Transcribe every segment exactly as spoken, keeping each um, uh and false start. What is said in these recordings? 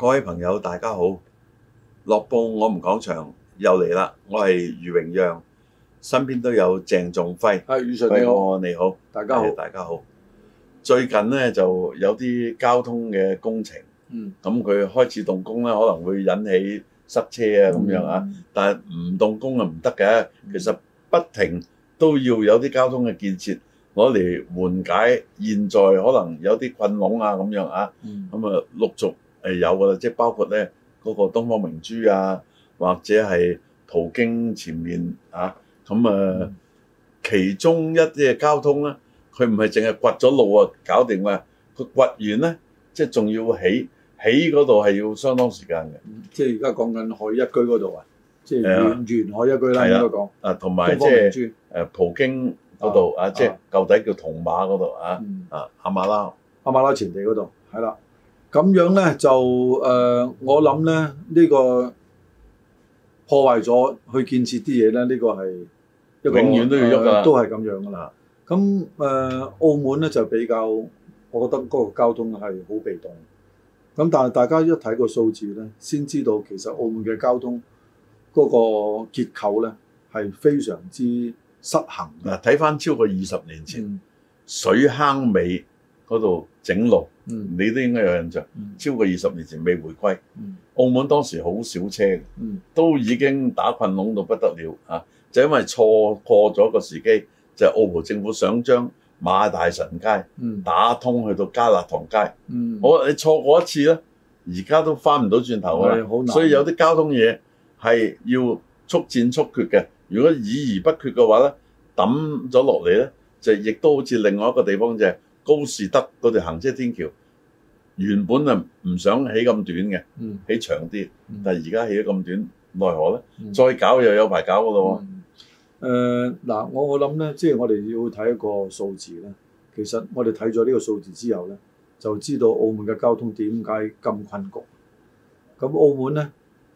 各位朋友，大家好！樂報我們講場又嚟啦，我係余榮讓，身邊都有鄭仲輝。 係余 Sir 你好， 你好， 大家好， 大家好。最近咧就有啲交通嘅工程， 嗯， 咁佢開始動工咧，可能會引起塞車啊咁樣啊， 嗯、 但係唔動工啊唔得嘅。其實不停都要有啲交通嘅建設攞嚟緩解現在可能有啲困籠啊咁樣啊，咁啊陸續誒有㗎啦，即係包括咧嗰個東方明珠啊，或者係途經前面啊，咁啊、嗯、其中一啲嘅交通咧，佢唔係淨係掘咗路啊搞掂啊，佢掘完咧即係仲要起，起嗰度係要相當時間嘅、嗯。 即係而家講緊海一居嗰度啊，即係沿沿海一居啦應該講。啊， 同埋即係誒葡京嗰度啊，即係舊底叫銅馬嗰度啊，嗯、啊亞馬拉亞馬拉前地嗰度係啦。咁樣咧就誒、呃，我諗咧呢、呢個破壞咗去建設啲嘢咧，呢、呢個係一個永遠都要喐㗎、呃， 都係咁樣㗎啦。咁誒、呃，澳門咧就比較，我覺得嗰個交通係好被動。咁但係大家一睇個數字咧，先知道其實澳門嘅交通嗰個結構咧係非常之失衡。 嗱，睇翻超過二十年前、嗯、水坑尾嗰度整路。嗯，你都應該有印象。嗯、超過二十年前未回歸，嗯、澳門當時好少車嘅、嗯，都已經打困籠到不得了啊！就因為錯過咗個時機，就係、澳葡政府想將馬大臣街、嗯、打通去到加勒塘街。嗯，我你錯過一次咧，而家都翻唔到轉頭啦。所以有啲交通嘢係要速戰速決嘅。如果議而不決嘅話咧，抌咗落嚟咧，就亦都好似另外一個地方就係、係。高士德嗰條行車天橋原本啊唔想起咁短嘅、嗯，起長啲，但係而家起咗咁短，奈何咧、嗯？再搞又有排搞噶咯喎。誒嗱，我我諗咧，即係我哋要睇一個數字咧。其實我哋睇咗呢個數字之後咧，就知道澳門嘅交通點解咁困局。咁澳門咧，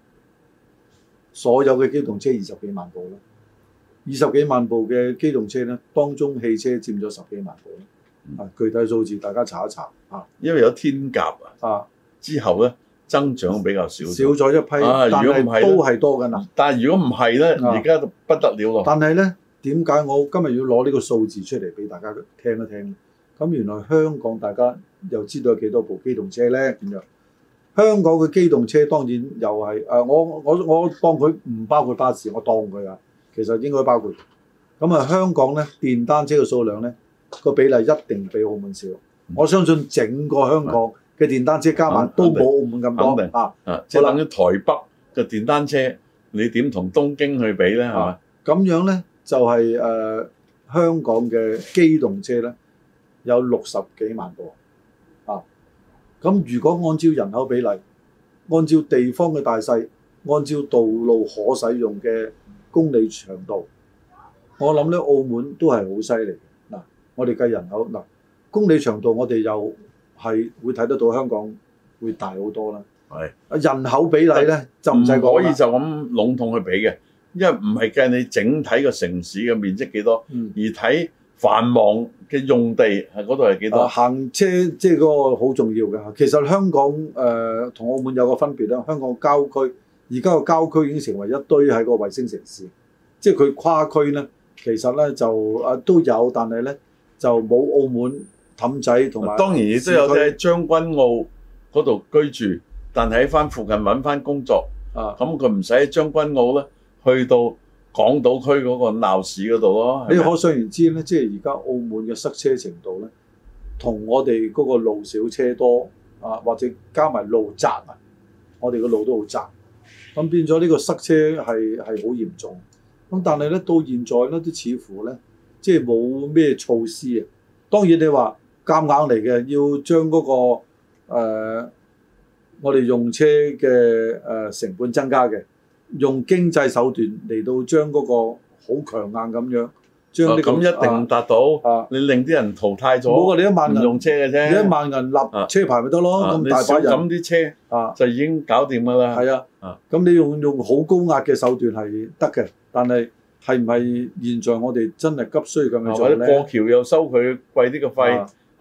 所有嘅機動車二十幾萬部啦，二十幾萬部嘅機動車咧，當中汽車佔咗十幾萬部。啊，具體數字大家查一查啊， 因為有天鴿啊，之後咧增長比較少， 少咗一批，啊、但係都係多㗎嗱。 但係如果唔係咧，而家就不得了咯。 但係咧，點解我今日要攞呢個數字出嚟俾大家聽一聽？咁原來香港大家又知道有幾多部機動車咧？咁樣香港嘅機動車當然又係誒、呃，我我我當佢唔包括巴士，我當佢啊，其實應該包括。咁啊，香港咧電單車嘅數量咧，個比例一定比澳門少，嗯、我相信整個香港嘅電單車加埋都冇澳門咁多啊！ 啊，即係等於台北嘅電單車，你點同東京去比咧？係嘛？ 咁樣咧就係、是、誒、呃、香港嘅機動車咧有六十幾萬部啊！咁如果按照人口比例，按照地方嘅大細，按照道路可使用嘅公里長度，我諗咧澳門都係好犀利。我哋計人口嗱，公里長度我哋又係會睇得到香港會大好多啦。係人口比例咧就唔使講， 可以就咁籠統去比嘅，因為唔係計你整體個城市嘅面積幾多，嗯、而睇繁忙嘅用地係嗰度係幾多。 行車即係嗰個好重要嘅。其實香港誒同、呃、澳門有個分別啦。香港郊區而家個郊區已經成為一堆喺個衛星城市，即係佢跨區咧，其實咧就誒、呃、都有，但係咧。就冇澳門氹仔同埋， 當然亦都有啲喺將軍澳嗰度居住，但係喺翻附近揾翻工作，啊，咁佢唔使喺將軍澳咧，去到港島區嗰個鬧市嗰度咯。 你可想而知咧，即係而家澳門嘅塞車程度咧，同我哋嗰個路少車多啊，或者加埋路窄啊，我哋個路都好窄，咁變咗呢個塞車係係好嚴重。咁但係咧到現在咧都似乎咧。即係冇咩措施啊！當然你話夾硬嚟嘅，要將嗰、那個、呃、我哋用車嘅誒、呃、成本增加嘅，用經濟手段嚟到將嗰個好強硬咁樣將呢、這個咁、啊、一定達到啊！你令啲人淘汰咗， 冇啊！你一萬人用車嘅啫， 你一萬人立車牌咪得咯？咁、啊、大把人咁啲車啊，就已經搞掂㗎啦。 係啊，咁、啊、你用用好高壓嘅手段係得嘅，但係。係唔係現在我哋真係急需咁樣做咧？ 或者過橋又收佢貴啲嘅費，啊，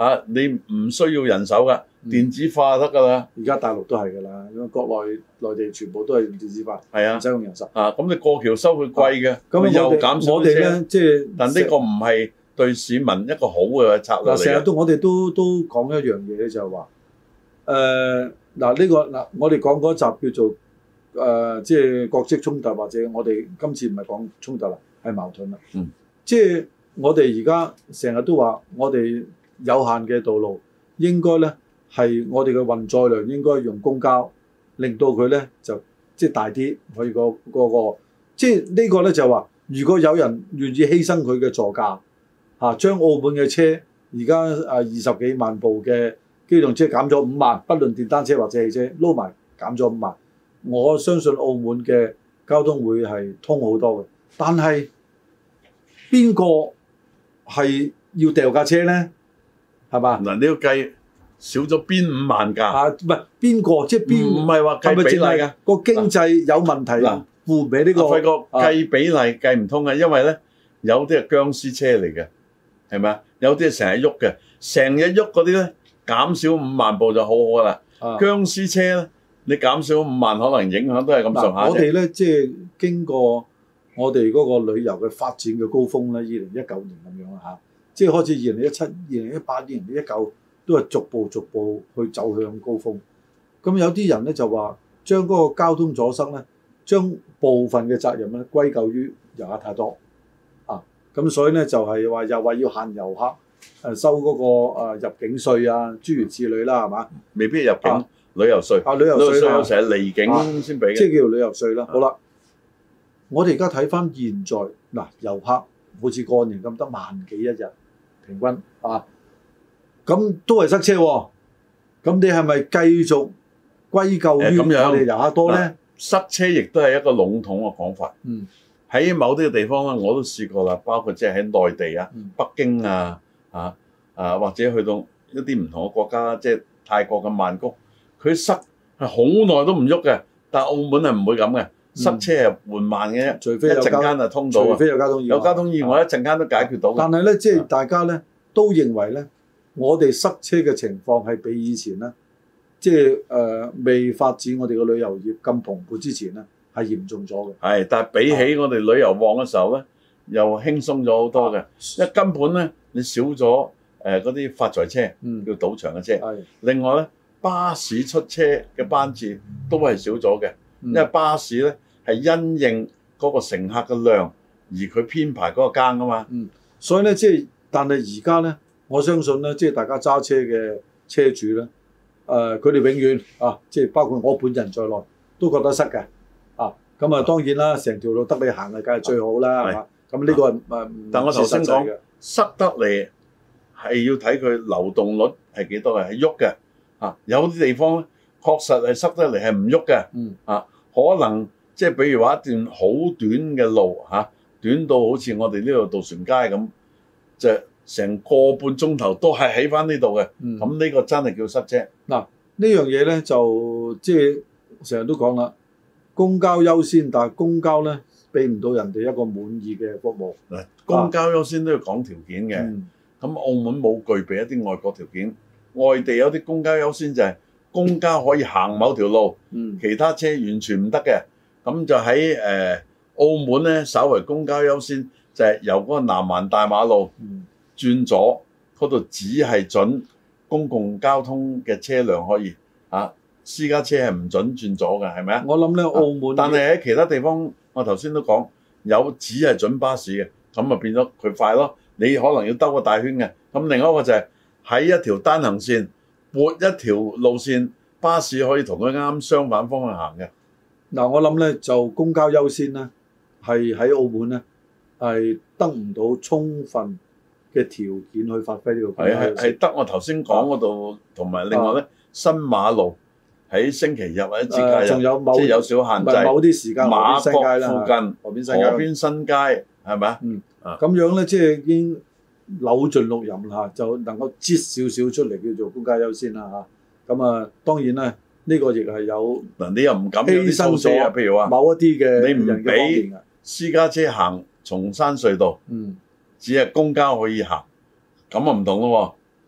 啊，你唔需要人手㗎，電子化得㗎啦。 而家大陸都係㗎啦，因為國內內地全部都係用電子化， 係啊， 唔使用人手。 啊，咁你過橋收佢貴嘅，咁、啊、又減少我哋咧，即係但呢個唔係對市民一個好嘅策略嚟嘅。 成日都我哋都都講一樣嘢咧，就係話誒嗱呢個嗱，我哋講嗰集叫做誒、呃、即係國際衝突，或者我哋今次唔係講衝突啦，係矛盾啦。 嗯， 即係我哋而家成日都話，我哋有限嘅道路應該咧係我哋嘅運載量應該用公交，令到佢咧就即係大啲，可以、嗰個、嗰個即係呢個咧就話，如果有人願意犧牲佢嘅座駕嚇，將澳門嘅車而家誒二十幾萬部嘅機動車減咗五萬，不論電單車或者汽車撈埋減咗五萬，我相信澳門嘅交通會係通好多嘅。但係邊個係要掉架車咧？係嘛？嗱， 你要計少咗邊五萬架啊？唔係邊個？即係邊？ 唔係話計比例㗎。 個經濟有問題嗱，付唔起呢個。 輝哥計比例計唔通嘅，因為咧有啲係僵屍車嚟嘅，係咪啊？有啲係成日喐嘅，成日喐嗰啲咧減少五萬部就好好啦。啊、僵屍車咧，你減少五萬，可能影響都係咁上下。 我哋咧即係經過我哋嗰個旅遊嘅發展嘅高峰咧，二零一九年咁樣啦嚇，即係開始二零一七、二零一八、二零一九都係逐步逐步去走向高峰。咁有啲人咧就話將嗰個交通阻塞咧，將部分嘅責任咧歸咎於遊客太多啊。咁所以咧就係話又話要限遊客。誒收嗰個入境稅啊，諸如此類啦，係嘛？ 未必入境、啊、旅遊稅啊，旅遊稅啦， 有時係離境先俾嘅， 即係叫旅遊稅啦。好啦，我哋而家睇翻現在嗱，遊客好似過年咁得萬幾一日平均啊，咁都係塞車喎、啊。咁你係咪繼續歸咎於我哋遊客多咧、啊？ 塞車亦都係一個籠統嘅講法。 嗯，喺某啲嘅地方咧，我都試過啦，包括即係喺內地啊、嗯、北京啊。啊啊，或者去到一啲唔同嘅國家，即係泰國嘅曼谷，佢塞係好耐都唔喐嘅。但係澳門係唔會咁嘅，塞車係緩慢嘅啫，除非一陣間就通到，除非有交通意外，有交通意外一陣間都解決到。但係咧，即係大家咧都認為咧，我哋塞車嘅情況係比以前咧，即係誒未發展我哋嘅旅遊業咁蓬勃之前咧係嚴重咗嘅。係，但係比起我哋旅遊旺嘅時候咧，又輕鬆咗好多嘅，因為根本咧。你少咗誒嗰啲發財車，嗯、叫賭場嘅車。係。另外咧，巴士出車嘅班次都係少咗嘅，嗯、因為巴士咧係因應嗰個乘客嘅量而佢編排嗰個更啊嘛。嗯。所以咧，即係但係而家咧，我相信咧，即係大家揸車嘅車主咧，誒佢哋永遠啊，即係包括我本人在內，都覺得塞嘅。啊，咁啊當然啦，成條路得你行啊，梗係最好啦，係嘛？咁呢個係誒，但我頭先講。塞得嚟係要睇佢流動率係幾多嘅，係喐嘅啊！有啲地方咧確實係塞得嚟係唔喐嘅，嗯啊，可能即係比如話一段好短嘅路嚇、啊，短到好似我哋呢度渡船街咁，就成個半鐘頭都係喺翻呢度嘅，咁、嗯、呢個真係叫塞車。嗱、啊、呢樣嘢咧就即係成日都講啦，公交優先，但係公交咧俾唔到人哋一個滿意嘅服務。嗱，公交優先都要講條件嘅。咁、嗯、澳門冇具備一啲外國條件，外地有啲公交優先就係公交可以行某條路，嗯、其他車完全唔得嘅。咁就喺誒、呃、澳門咧，稍為公交優先就係由嗰個南環大馬路、嗯、轉左嗰度，只係準公共交通嘅車輛可以啊，私家車係唔準轉左嘅，係咪啊？我諗咧，澳門、啊，但係喺其他地方。我頭先都講有只係準巴士嘅，咁啊變咗佢快咯。你可能要兜個大圈嘅。咁另外一個就係喺一條單行線撥一條路線，巴士可以同佢啱相反方向行嘅。嗱，我諗咧就公交優先咧，係喺澳門咧係得唔到充分嘅條件去發揮呢個公交優先。係係係得我頭先講嗰度，同埋另外咧、啊、新馬路。喺星期日或者節假日，仲有某即係有少限制。某啲時間，馬國附近、河邊新街、河邊新街係咪啊？嗯，咁樣咧，即係已經扭盡六壬啦，就能夠擠少少出嚟叫做公交優先啦嚇。咁啊，當然啦，呢個亦係有嗱，你又唔敢犧牲咗，譬如話某一啲嘅你唔俾私家車行松山隧道，嗯，只係公交可以行，咁啊唔同咯喎。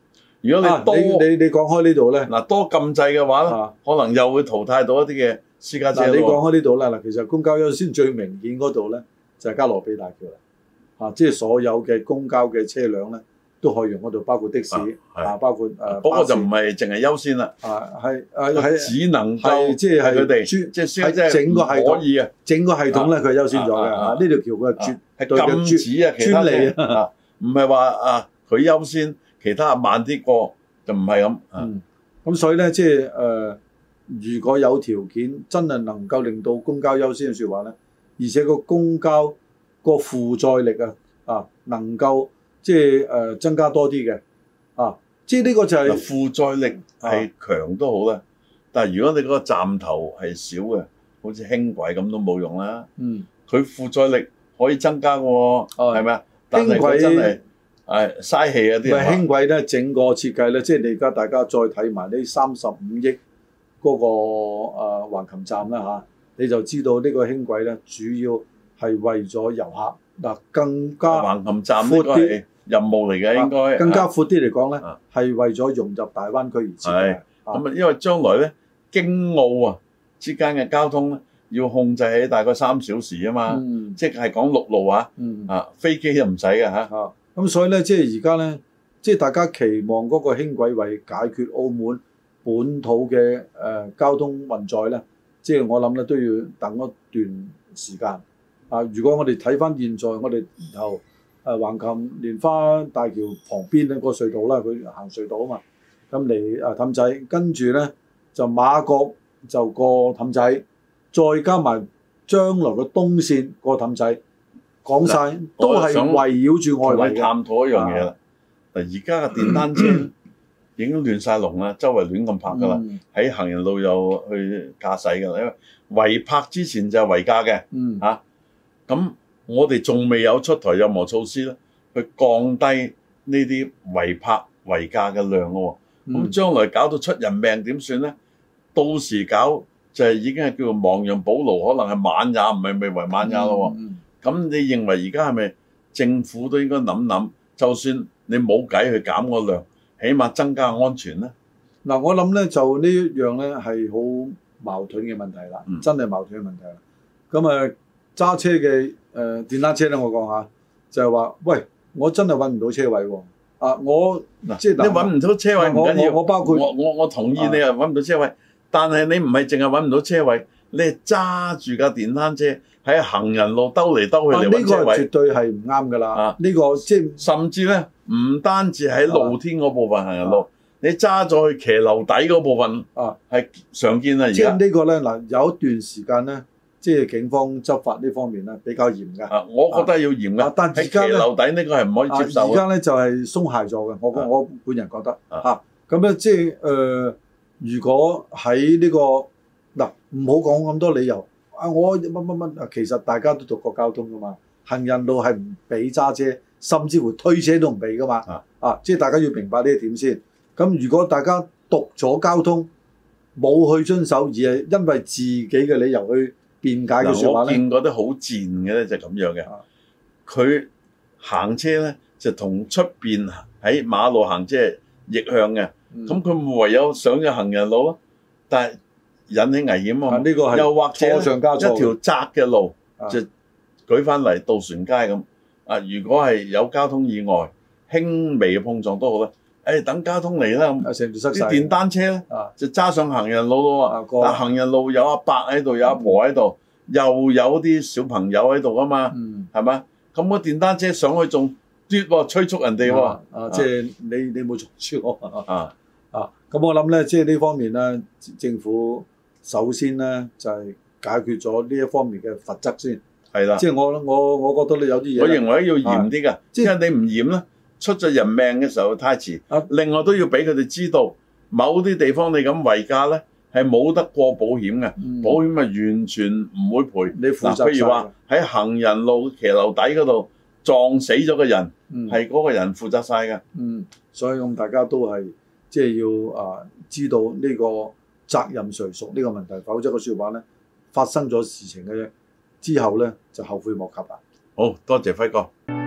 如果你多， 啊、你你你講開呢度咧， 嗱多禁制嘅話咧，啊、可能又會淘汰到一啲嘅私家車。 嗱、啊，你講開呢度啦，嗱，其實公交優先最明顯嗰度咧就係、是、加羅比大橋啦，啊，即係所有嘅公交嘅車輛咧都可以用嗰度，包括的士啊，啊包括誒。 嗰、呃、個就唔係淨係優先啦， 啊係誒係只能夠即係佢哋即係喺整個系統可以啊， 整個系統咧佢係優先咗嘅啊，呢條橋佢係絕係禁止啊，其他專利啊，唔係話啊佢優先，其他慢啲過就唔係咁。 嗯，咁所以咧即係誒，如果有條件真係能夠令到公交優先嘅説話咧，而且個公交個負載力啊啊能夠即係誒增加多啲嘅啊，即係呢個就係、是、 負載力係強都好啦，啊、但係如果你嗰個站頭係少嘅，好似輕軌咁都冇用啦。嗯，佢負載力可以增加嘅喎，係咪啊？但係佢真係誒嘥氣啊啲。 唔係輕軌咧，整個設計咧，即係你而家大家再睇埋呢三十五億嗰個誒橫琴站啦嚇，你就知道呢個輕軌咧主要係為咗遊客嗱更加橫琴站闊啲。任務嚟嘅應該更加闊啲嚟講咧，係、啊、為咗融入大灣區而設嘅。 咁啊，因為將來咧京澳啊之間嘅交通咧要控制喺大概三小時啊嘛，嗯、即係講陸路啊，嗯、啊飛機就唔使嘅嚇。咁、 啊、所以咧，即係而家咧，即係大家期望嗰個輕軌為解決澳門本土嘅誒、呃、交通運載咧，即係我諗咧都要等一段時間。啊，如果我哋睇翻現在我哋然後。誒橫琴蓮花大橋旁邊咧個隧道啦，佢行隧道啊嘛，咁嚟誒氹仔，跟住咧就馬國就過氹仔，再加埋將來嘅東線過氹仔，講晒都係圍繞住外圍嘅。 探討一樣嘢啦，嗱而家嘅電單車已經亂晒龍啦，周圍亂咁泊噶啦，喺、嗯、行人路又去駕駛噶啦，因為違泊之前就係違駕嘅，嚇咁、嗯。啊我哋仲未有出台任何措施咧，去降低呢啲違泊違駕嘅量咯、哦。咁、嗯、將來搞到出人命點算咧？到時搞就係已經係叫做亡羊補牢，可能係晚也唔係未為晚也咯。咁、嗯嗯、你認為而家係咪政府都應該諗諗？就算你冇計去減個量，起碼增加安全咧。 嗱、嗯，我諗咧就呢一樣咧係好矛盾嘅問題啦，嗯、真係矛盾嘅問題啦。咁啊揸車嘅。誒、呃、電單車咧，我講下就係、是、話，喂，我真係揾唔到車位喎、啊。啊，我嗱，即係你揾唔到車位唔緊要，我我包括我我我同意你又揾唔到車位，啊、但係你唔係淨係揾唔到車位，你係揸住架電單車喺行人路兜嚟兜去嚟揾車位，呢、啊這個絕對係唔啱㗎啦。啊，呢、這個即係甚至咧，唔單止喺露天嗰部分行人路，啊、你揸咗去騎樓底嗰部分啊，係常見啊。而家即係呢個咧嗱，有一段時間咧。即係警方執法呢方面咧比較嚴㗎、 啊，我覺得要嚴㗎、啊。但係而家咧，樓底呢個係唔可以接受。 而家咧就係、是、鬆懈咗嘅，我、啊、我本人覺得嚇。咁咧即係誒，如果喺呢、這個嗱，唔好講咁多理由。啊，我乜乜乜，其實大家都讀過交通㗎嘛。行人路係唔俾揸車，甚至乎推車都唔俾㗎嘛。啊，啊，即係大家要明白呢一點先。咁如果大家讀咗交通，冇去遵守，而係因為自己嘅理由去辯解嘅説話咧， 我見過啲好賤嘅咧，就咁樣嘅。佢行車咧就同出邊喺馬路行車逆向嘅，咁佢、嗯、唯有上咗行人路咯。但係引起危險啊！呢個係又或者一條窄嘅路、啊、就舉翻嚟渡船街咁。啊，如果係有交通意外，輕微嘅碰撞都好啦。誒、哎，等交通嚟啦，啲電單車咧、啊、就揸上行人路咯喎。嗱、啊，行人路有阿伯喺度，有阿婆喺度，嗯、又有啲小朋友喺度噶嘛，係咪、嗯？咁個電單車上去仲嘟喎，催促人哋喎。啊， 啊即係你你冇阻住我啊啊！咁我諗咧，即係呢方面咧，政府首先咧就係、是、解決咗呢一方面嘅罰則先。係啦的，即係我我我覺得你有啲嘢， 我認為要嚴啲㗎，即係你唔嚴咧。出咗人命嘅時候太遲，啊、另外都要俾佢哋知道，某啲地方你咁違駕咧係冇得過保險嘅，嗯、保險咪完全唔會賠。你負責。譬如話喺行人路騎樓底嗰度撞死咗個人，係嗰、嗯、個人負責晒嘅。嗯， 所以咁大家都係即係要啊知道呢個責任誰屬呢個問題，否則個説話咧發生咗事情嘅之後咧就後悔莫及啦。 好多謝輝哥。